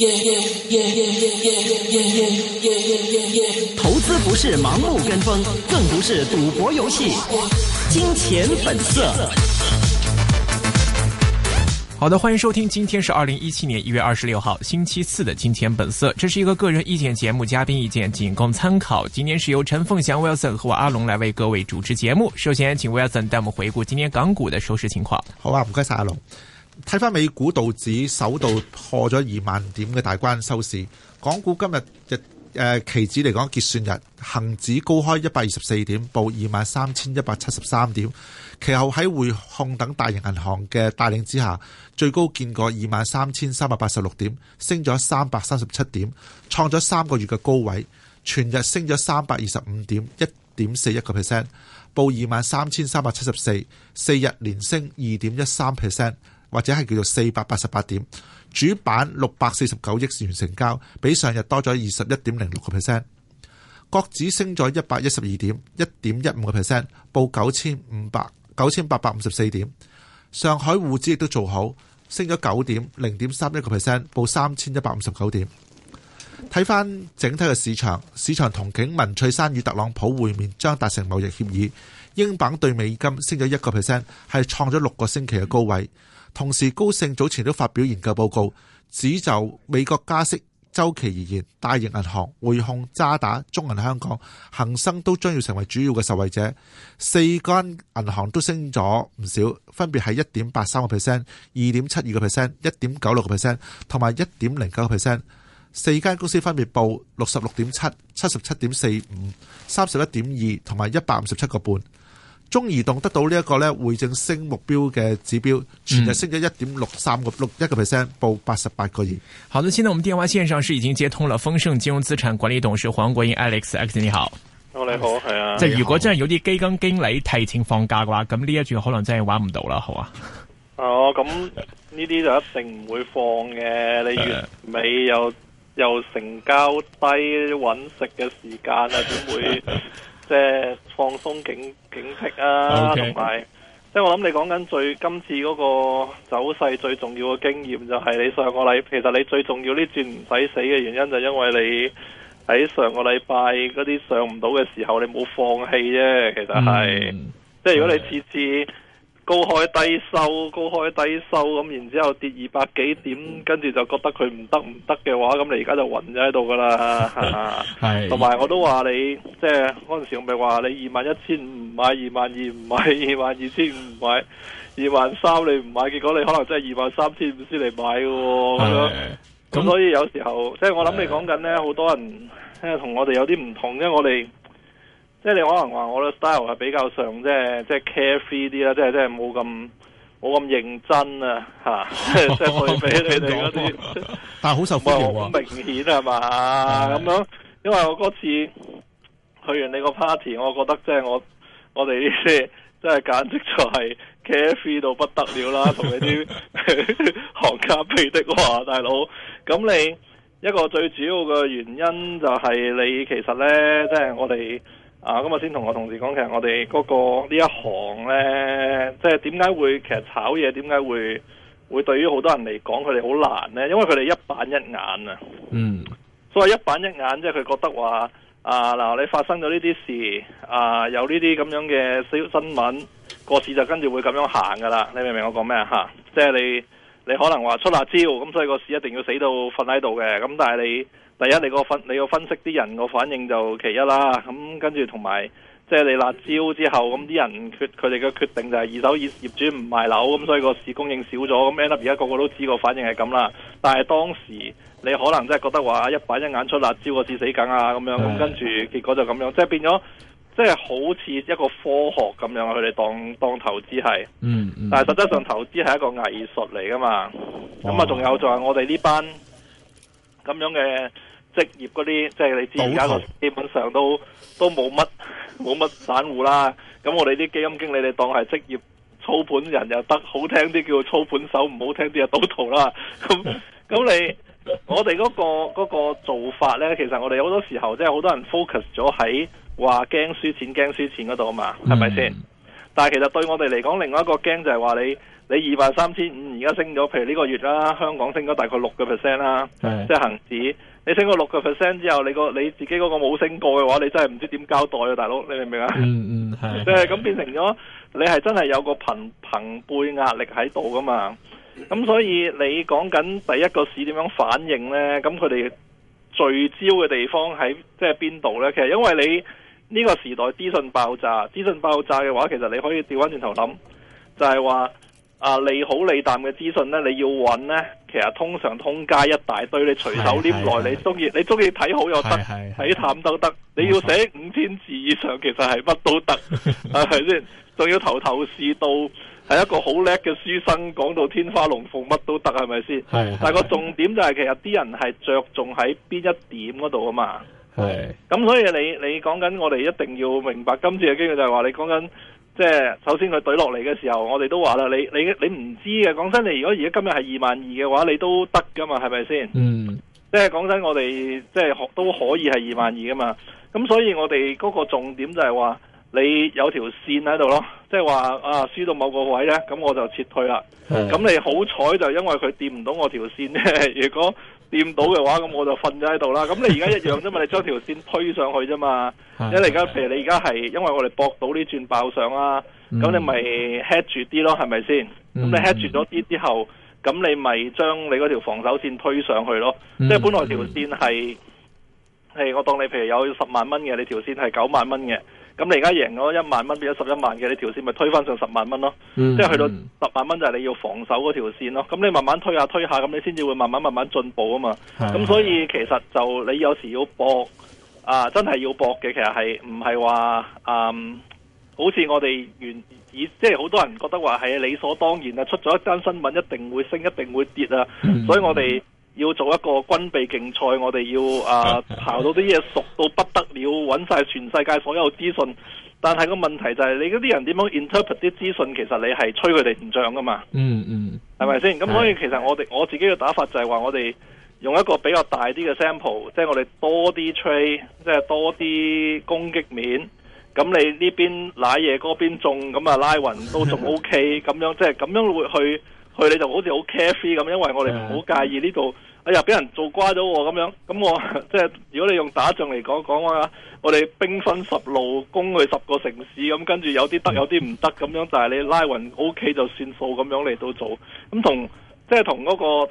投資不是盲目跟風，更不是賭博遊戲。金錢本色。 好的，歡迎收聽，今天是2017年1月26號星期四的金錢本色。這是一個個人意見節目，嘉賓意見僅供參考。今天是由陳鳳祥 Wilson 和我阿龍來為各位主持節目。首先請 Wilson 帶我們回顧今天港股的收市情況。 好啊，唔該晒阿龍。睇翻美股道指首度破咗2萬點嘅大關收市，港股今日期指嚟講結算日，恒指高開124點，報23,173點。其後喺匯控等大型銀行嘅帶領之下，最高見過23,386點，升咗337點，創咗3個月嘅高位。全日升咗325點，1.41%，報23,374，四日連升2.13%，或者係叫做488點。主板649億元成交，比上日多咗21.06%。國指升咗112點，1.15%，報9,854點。上海滬指亦都做好，升咗9點，0.31%，報3,159點。睇翻整體嘅市場同景文翠珊與特朗普會面將達成貿易協議，英鎊對美金升咗1%，係創咗6個星期嘅高位。同時高盛早前都發表研究報告，指就美國加息周期而言，大型銀行、匯控、渣打、中銀香港、恒生都將要成為主要嘅受惠者。4間銀行都升咗唔少，分別係 1.83%、2.72%、1.96% 同埋 1.09%。4間公司分別報 66.7、77.45、31.2 同埋157個半。中移動得到呢一個匯正升目標嘅指標，全日升咗 1.63%，報88個2。 好的，現在我們電話線上是已經接通了豐盛金融資產管理董事黃國英 Alex 你好。 你好，係啊。 即係如果真係有啲基金經理提前放假嘅話，咁呢一注可能真係玩唔到啦，好啊。 哦，咁呢啲就一定唔會放嘅。你月尾又成交低揾食嘅時間啊，點會？即係放鬆警惕啊，同埋即係我諗你講緊今次嗰個走勢最重要嘅經驗就係你上個禮，其實你最重要呢轉唔使死嘅原因就因為你喺上個禮拜嗰啲上唔到嘅時候你冇放棄啫，其實係即係如果你次次高開低收咁，然之後跌200幾點，跟住就覺得佢唔得嘅話，咁你而家就暈咗喺度噶啦。係，同埋我都話你，即係嗰陣時我咪話你21,500唔買，22,000唔買，22,200唔買，23,000你唔買，結果你可能真係23,500先嚟買嘅。咁所以有時候，即係我諗你講緊呢，好多人同我哋有啲唔同，因為我哋。即係你可能話我嘅 style 係比較上即係 carefree 啲啦，即係冇咁認真啊吓，即係對比你哋嗰啲， 但係好受歡迎喎， 好明顯係嘛咁樣。因為我嗰次去完你個 party， 我覺得即係我哋呢啲即係簡直就係 carefree 到不得了啦，同你啲行家比的話，大佬。咁你一個最主要嘅原因就係你其實咧，即係我哋。咁我先同我同事講，其實我哋嗰個呢一行呢，即係點解會其實炒嘢點解會對於好多人嚟講佢哋好難呢？因為佢哋一板一眼啊。所謂一板一眼，即係佢覺得話嗱，你發生咗呢啲事有呢啲咁樣嘅新聞，個市就跟住會咁樣行噶啦。你明唔明我講咩啊？即係你可能話出辣椒，咁所以個市一定要死到瞓喺度嘅。咁但係你第一，你個分析啲人個反應就其一啦，咁跟住同埋即係你辣椒之後，咁啲人佢哋嘅決定就係二手業主唔賣樓，咁所以個市供應少咗，咁 end up 而家個個都知個反應係咁啦。但係當時你可能真係覺得話一板一眼出辣椒個市死梗啊咁樣，咁跟住結果就咁樣，即係變咗即係好似一個科學咁樣，佢哋當投資係，但係實質上投資係一個藝術嚟噶嘛。咁啊，仲有就係我哋呢班咁樣嘅職業嗰啲，即係你知而家個基本上都冇乜散戶啦。咁我哋啲基金經理你當係職業操盤人又得，好聽啲叫操盤手，唔好聽啲就賭徒啦。咁我哋嗰個做法呢，其實我哋好多時候即係好多人 focus 咗喺話驚輸錢嗰度啊嘛，係咪先？但係其實對我哋嚟講，另外一個驚就係話你你23,500而家升咗，譬如呢個月啦，香港升咗大概6% 啦，即係恒指。你升咗6% 之後，你自己嗰個冇升過嘅話，你真係唔知點交代啊，大佬，你明唔明啊？係。即係咁變成咗，你係真係有個朋輩壓力喺度噶嘛？咁所以你講緊第一個市點樣反應呢？咁佢哋聚焦嘅地方喺即係邊度呢？其實因為你呢個時代資訊爆炸嘅話，其實你可以調翻轉頭諗，就係話利好利淡嘅資訊呢，你要揾呢，其實通常通街一大堆，你隨手拈來，你中意睇好又得，睇淡都得，你要寫5000字以上，其實係乜都得，係咪先？仲要頭是道，係一個好叻嘅書生，講到天花龍鳳乜都得，係咪先？但係個重點就係其實啲人係着重喺邊一點嗰度啊嘛。咁所以你講緊我哋一定要明白今次嘅機會就係話你講緊。即係首先佢懟落嚟嘅時候，我哋都話啦，你唔知嘅。講真，你如果而家今日係22,000嘅話，你都得噶嘛，係咪先？即係講真，我哋即係都可以係22,000噶嘛。咁所以我哋嗰個重點就係話，你有條線喺度咯。即係話輸到某個位呢，咁我就撤退啦。咁你好彩就因為佢掂唔到我條線呢。如果掂到嘅話，咁我就瞓咗喺度啦。咁你而家一樣啫嘛，你將條線推上去啫嘛。因為譬如你而家係因為我哋搏到呢轉爆上啦，咁你咪 head 住啲咯，係咪先？咁你 head 住咗啲之後，咁你咪將你嗰條防守線推上去咯。即係本來條線係我當你譬如有10萬蚊嘅，你條線係9萬蚊嘅。咁你而家贏咗1萬蚊，變咗11萬嘅，你條線咪推翻上10萬蚊咯。即係去到10萬蚊就係你要防守嗰條線咯。咁你慢慢推下，咁你先至會慢慢進步啊嘛。咁所以其實就你有時要搏真係要搏嘅，其實係唔係話好似我哋即係好多人覺得話係理所當然啊，出咗一單新聞一定會升，一定會跌啊。所以我哋要做一個軍備競賽，我哋要刨到啲嘢熟到不得了，揾晒全世界所有資訊。但係個問題就係你嗰啲人點樣 interpret 啲資訊，其實你係吹佢哋唔漲噶嘛。係咪先？咁所以其實我自己嘅打法就係話我哋用一個比較大啲嘅 sample， 即係我哋多啲 trade， 即係多啲攻擊面。咁你呢邊瀨嘢，嗰邊中，咁拉勻都仲 OK，咁樣即係咁樣會去你就好似好 carefree 咁，因為我哋唔好介意呢度，哎呀俾人做瓜咗喎咁樣。咁我即係如果你用打仗嚟講話，我哋兵分10路攻去10個城市，咁跟住有啲得有啲唔得，咁樣就係你拉勻 OK 就算數咁樣嚟到做。咁同嗰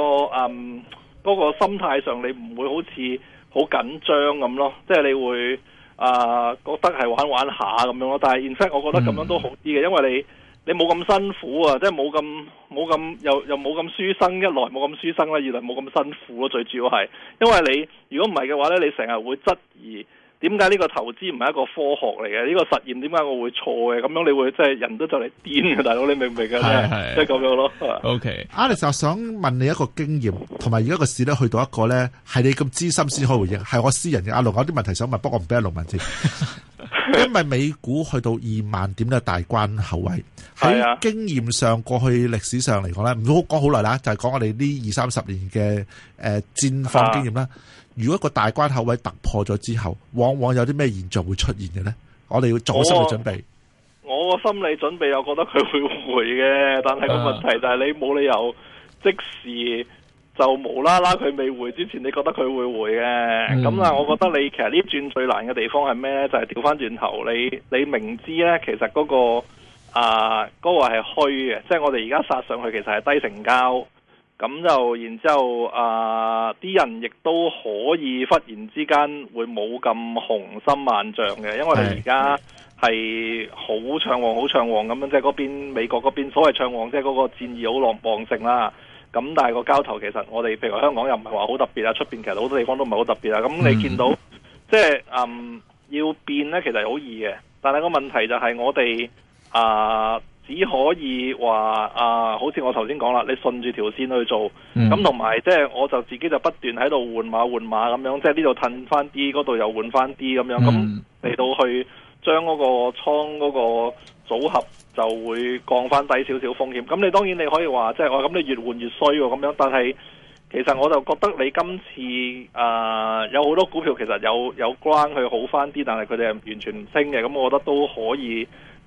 個心態上，你唔會好似好緊張咁咯，即係你會覺得係玩下咁樣咯。但係 in fact 我覺得咁樣都好啲嘅，因為你冇咁辛苦啊，即係冇咁又冇咁書生，一來冇咁書生啦，二來冇咁辛苦咯。最主要係因為你如果唔係嘅話咧，你成日會質疑點解呢個投資唔係一個科學嚟嘅？呢個實驗點解我會錯嘅？咁樣你會即係人都就嚟癲嘅，大佬你明唔明啊？即係咁樣咯。 OK，Alex，我想問你一個經驗，同埋而家個市咧去到一個咧係你咁資深先可以回應，係我私人嘅。阿龍有啲問題想問，不過我唔俾阿龍問先。因為美股去到20,000點嘅大關口位，喺經驗上過去歷史上嚟講咧，唔好講好耐啦，就係講我哋呢20-30年嘅戰況經驗啦。如果個大關口位突破咗之後，往往有啲咩現象會出現嘅呢？我哋要做好心理準備。 我個心理準備又覺得佢會回嘅，但係個問題就係你冇理由即時就無啦啦佢未回之前，你覺得佢會回嘅。咁我覺得你其實呢轉最難嘅地方係咩呢？就係調翻轉頭，你明知呢，其實嗰個係虛嘅，即係我哋而家殺上去其實係低成交。咁就然之後啲人亦都可以忽然之間會冇咁雄心萬丈嘅，因為你而家係好暢旺咁樣，即係嗰邊美國嗰邊所謂暢旺，即係嗰個戰意好旺盛啦。咁但係個交投其實我哋譬如香港又唔係話好特別啊，出邊其實好多地方都唔係好特別啊。咁你見到即係要變呢，其實好易嘅，但係個問題就係我哋只可以話好似我頭先講啦，你順住條線去做，咁同埋即係我就自己就不斷喺度換馬咁樣，即係呢度褪翻啲，嗰度又換翻啲咁樣，咁嚟到去將嗰個倉嗰個組合就會降翻低少少風險。咁你當然你可以話即係咁你越換越衰喎咁樣，但係其實我就覺得你今次有好多股票其實有關去好翻啲，但係佢哋係完全唔升嘅，咁我覺得都可以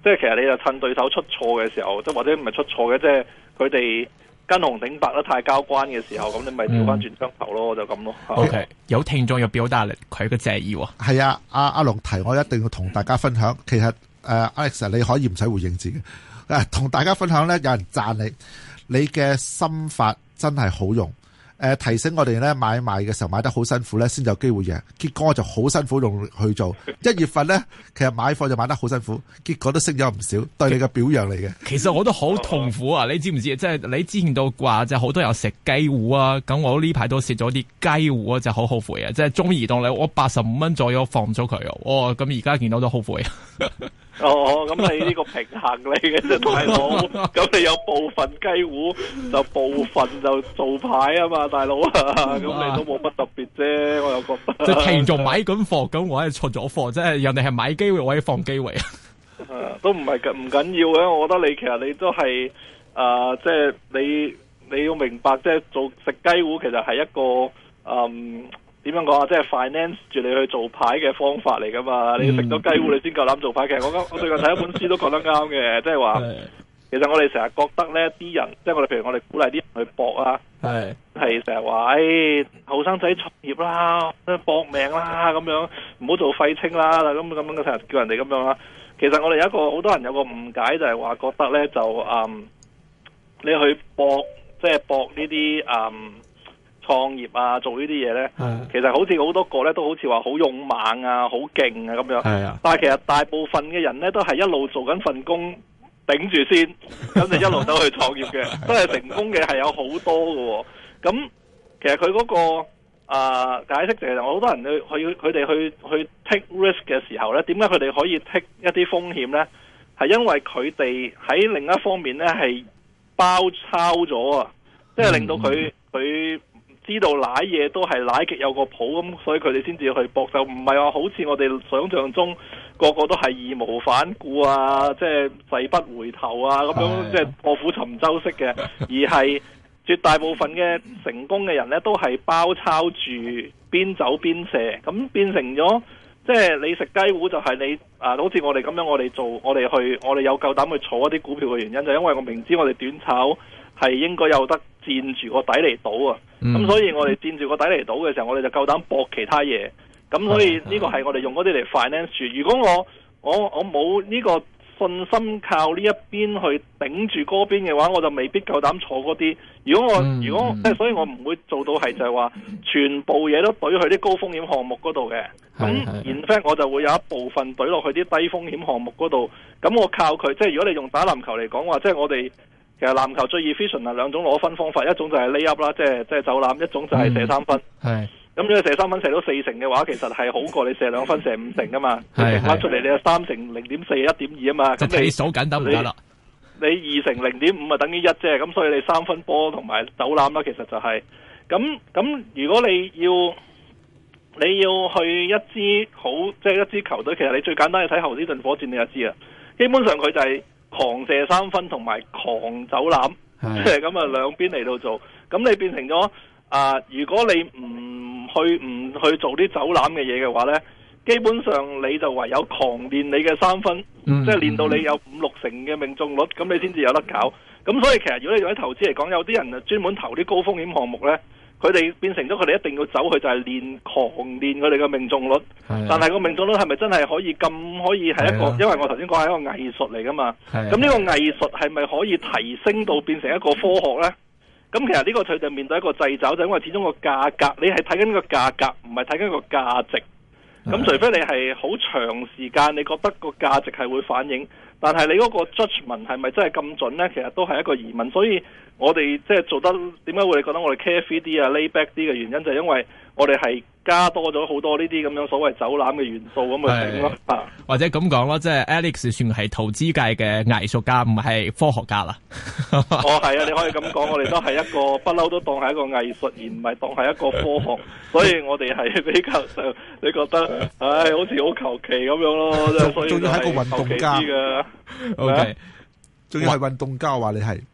即係其實你就趁對手出錯嘅時候，即或者唔係出錯嘅，即係佢哋跟紅頂白得太交關嘅時候，咁你咪調翻轉槍頭咯，就咁咯。 OK， 有聽眾要表達佢嘅謝意喎。 係啊，阿龍提我一定要同大家分享。其實Alex 你可以唔使回應字嘅，同大家分享咧，有人讚你嘅心法真係好用。提醒我哋咧買賣嘅時候買得好辛苦咧，先有機會贏。結果我就好辛苦用去做。1月份咧，其實買貨就買得好辛苦，結果都升咗唔少，對你嘅表揚嚟嘅。 其實我都好痛苦啊！你知唔知？即係你之前都話，即係好多人食雞糊啊，咁我呢排都食咗啲雞糊啊，就好後悔啊！即係中移動咧，我85蚊左右放咗佢啊，咁而家見到都後悔啊！ 咁你呢個平衡嚟嘅啫，大佬。咁你有部分雞糊就部分就做牌啊嘛，大佬啊。咁你都冇乜特別啫，我又覺得。即係聽眾買緊貨，咁我係出咗貨，即係人哋係買機會，我係放機會啊。都唔係唔緊要嘅，我覺得你其實你都係即係你要明白，即係做食雞糊其實係一個點樣講啊？即係 finance 住你去做牌嘅方法嚟噶嘛？你食咗雞糊，你先夠膽做牌。其實我最近睇一本書都覺得啱嘅，即係話其實我哋成日覺得呢啲人，即係我哋譬如我哋鼓勵啲人去搏啊，係成日話後生仔創業啦，搏命啦咁樣，唔好做廢青啦，咁樣成日叫人哋咁樣啦。其實我哋有一個好多人有個誤解，就係話覺得呢，就你去搏，即係搏呢啲創業啊，做呢啲嘢呢，其實好似好多個呢都好似話好勇猛啊，好勁啊咁樣。但係其實大部分嘅人呢，都係一路做緊份工頂住先，咁就一路走去創業嘅，都係成功嘅係有好多嘅。咁其實佢嗰個解釋就係好多人佢哋去 take risk 嘅時候呢，點解佢哋可以 take 一啲風險呢？係因為佢哋喺另一方面呢係包抄咗啊，即係令到佢知道舐嘢都係舐極有個譜，咁所以佢哋先至去搏，就唔係話好似我哋想象中個個都係義無反顧啊，即係誓不回頭啊咁樣，即係臥虎尋舟式嘅，而係絕大部分嘅成功嘅人呢，都係包抄住邊走邊射，咁變成咗即係你食雞糊就係你好似我哋咁樣，我哋有夠膽去坐一啲股票嘅原因，就因為我明知我哋短炒係應該有得佔住個底嚟賭啊，咁所以我哋佔住個底嚟賭嘅時候，我哋就夠膽搏其他嘢，咁所以呢個係我哋用嗰啲嚟 finance 住。如果我冇呢個信心靠呢一邊去頂住嗰邊嘅話，我就未必夠膽坐嗰啲。如果即係所以我唔會做到係就係話全部嘢都懟去啲高風險項目嗰度嘅。咁 in fact 我就會有一部分懟落去啲低風險項目嗰度。咁我靠佢，即係如果你用打籃球嚟講話，即係我哋其實籃球最 efficient 係兩種攞分方法，一種就係 lay up 啦，即係走籃，一種就係射三分。咁如果射三分射到4成嘅話，其實係好過你射2分射5成噶嘛。你乘翻出嚟，你係3成0.4 1.2啊嘛。咁你數緊得唔得啦？你2成0.5啊，等於1啫。咁所以你3分波同埋走籃啦，其實就係咁。如果你要去一支好，即係一支球隊，其實你最簡單係睇侯斯頓火箭，你就知啦。基本上佢就係狂射3分同埋狂走籃，即係咁啊，兩邊嚟到做。咁你變成咗如果你唔去做啲走籃嘅嘢嘅話呢，基本上你就唯有狂練你嘅3分，即係練到你有5-6成嘅命中率，咁你先至有得搞。咁所以其實如果你用喺投資嚟講，有啲人專門投啲高風險項目呢，佢哋變成咗佢哋一定要走去就係狂練佢哋嘅命中率。但係個命中率係咪真係可以係一個？因為我頭先講係一個藝術嚟噶嘛。咁呢個藝術係咪可以提升到變成一個科學呢？咁其實呢個佢就面對一個掣肘，就因為始終個價格，你係睇緊個價格，唔係睇緊個價值。咁除非你係好長時間，你覺得個價值係會反映，但係你嗰個 judgment 係咪真係咁準呢？其實都係一個疑問。所以我哋即係做得點解會覺得我哋 carefree 啲啊 lay back 啲嘅原因，就係因為我哋係加多咗好多呢啲咁樣所謂走籃嘅元素咁去整咯。 或者咁講咯，即係 Alex 算係投資界嘅藝術家，唔係科學家啦。 係啊，你可以咁講，我哋都係一個不嬲都當係一個藝術，而唔係當係一個科學。所以我哋係比較上，你覺得好似好求其咁樣咯。 仲要係一個運動家嘅。 OK， 仲要係運動家話你係。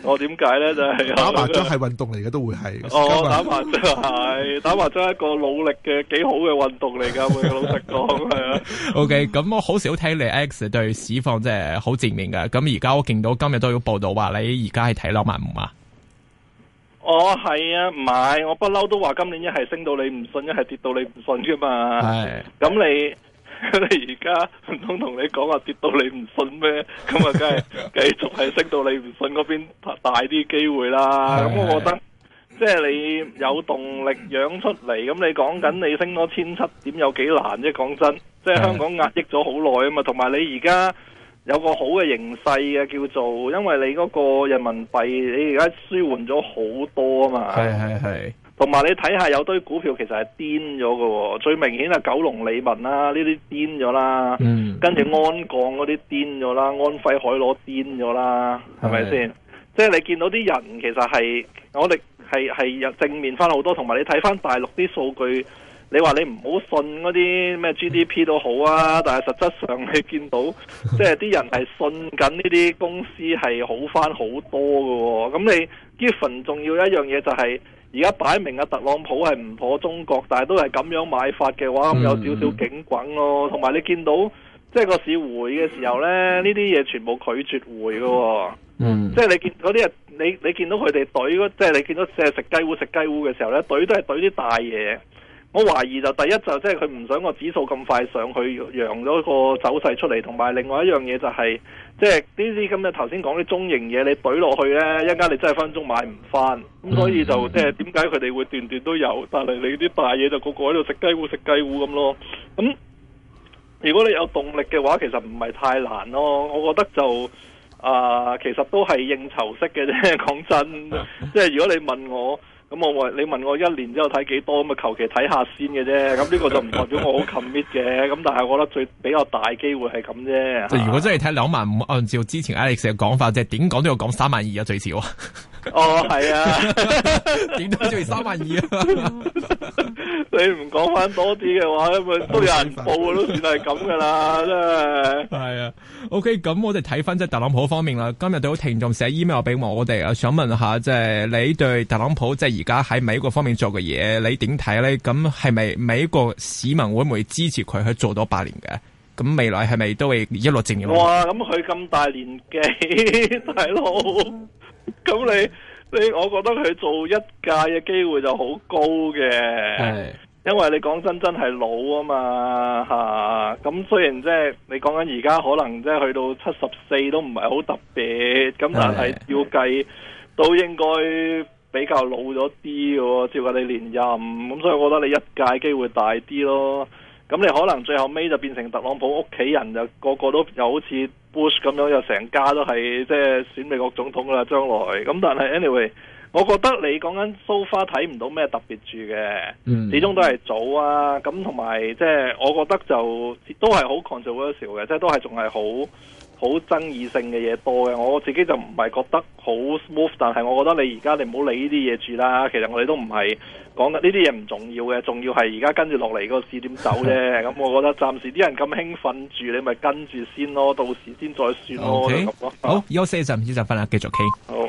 我點解咧？就係打麻將係運動嚟嘅，都會係。 打麻將係打麻將係一個努力嘅幾好嘅運動嚟噶，會老實講係啊。 OK，咁我好少睇你 X 對市況即係好正面嘅。咁而家我見到今日都有報道話你而家係睇25000啊。 係啊，唔係我不嬲都話今年一係升到你唔信，一係跌到你唔信噶嘛。係。咁你而家唔通同你講話跌到你唔信咩？咁啊，梗係繼續係升到你唔信嗰邊大啲機會啦。咁我覺得即係你有動力養出嚟，咁你講緊你升多1700點有幾難啫？講真，即係香港壓抑咗好耐啊嘛。同埋你而家有個好嘅形勢嘅叫做，因為你嗰個人民幣你而家舒緩咗好多啊嘛。係。同埋你睇下有堆股票其實係癲咗嘅，最明顯係九龍理文啦，呢啲癲咗啦，跟住安鋼嗰啲癲咗啦，安徽海螺癲咗啦，係咪先？即係你見到啲人其實係我哋係正面翻好多，同埋你睇翻大陸啲數據，你話你唔好信嗰啲咩 GDP 都好啊，但係實質上你見到即係啲人係信緊呢啲公司係好翻好多嘅，咁你 given 重要一樣嘢就係。而家擺明特朗普係唔妥中國，但係都係咁樣買法嘅話，咁有少少警滾咯。同埋你見到即係個市回嘅時候呢，呢啲嘢全部拒絕回嘅。即係你見嗰啲人，你見到佢哋懟，即係你見到即係食雞糊嘅時候呢，懟都係懟啲大嘢。我懷疑就第一就即係佢唔想個指數咁快上去，揚咗個走勢出嚟。同埋另外一樣嘢就係、是，即係呢啲咁嘅頭先講啲中型嘢，你懟落去呢，一陣間你真係分鐘買唔翻。咁所以就即係點解佢哋會段段都有，但係你啲大嘢就個個喺度食雞糊咁咯。咁如果你有動力嘅話，其實唔係太難咯。我覺得就其實都係應酬式嘅啫。講真，即係如果你問我。咁你問我1年之後睇幾多，咁啊求其睇下先嘅啫。咁呢個就唔代表我好 commit 嘅。咁但係我覺得比較大機會係咁啫。 即係如果真係睇25000，按照之前 Alex 嘅講法，即係點講都要講32000啊最少。 係啊， 點都要32000啊。 你唔講翻多啲嘅話，咁都有人報都算係咁噶啦，真係。係啊。OK，咁我哋睇翻即係特朗普方面啦。今日都有聽眾寫 email 俾我哋啊，想問下即係你對特朗普即係而家喺美國方面做嘅嘢，你點睇咧？咁係咪美國市民會唔會支持佢去做多8年嘅？咁未來係咪都會一路正嘅？ 哇！咁佢咁大年紀，大佬，咁你我覺得佢做一屆嘅機會就好高嘅。因為你講真係老啊嘛吓，咁雖然即係你講緊而家可能即係去到74都唔係好特別，咁但係要計都應該比較老咗啲嘅，照計你連任，咁所以我覺得你一屆機會大啲咯。咁你可能最後尾就變成特朗普屋企人就個個都又好似 Bush 咁樣，又成家都係即係選美國總統啦將來。咁但係 anyway。我覺得你講緊 so far 睇唔到咩特別住嘅，始終都係早啊。咁同埋即係我覺得就都係好 controversial 嘅，即係都係仲係好爭議性嘅嘢多嘅。我自己就唔係覺得好 smooth， 但係我覺得你而家你唔好理呢啲嘢住啦。其實我哋都唔係講緊呢啲嘢唔重要嘅，重要係而家跟住落嚟個市點走啫。咁我覺得暫時啲人咁興奮住，你咪跟住先咯，到時先再算咯。 Okay. 好，休息一陣，唔知就翻嚟繼續傾。 好。